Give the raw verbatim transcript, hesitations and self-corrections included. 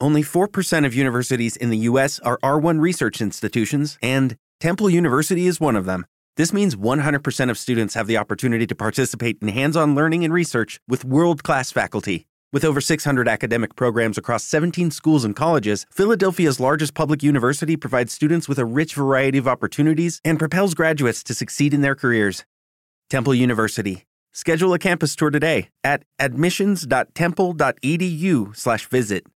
Only four percent of universities in the U S are R one research institutions, and Temple University is one of them. This means one hundred percent of students have the opportunity to participate in hands-on learning and research with world-class faculty. With over six hundred academic programs across seventeen schools and colleges, Philadelphia's largest public university provides students with a rich variety of opportunities and propels graduates to succeed in their careers. Temple University. Schedule a campus tour today at admissions dot temple dot e d u slash visit.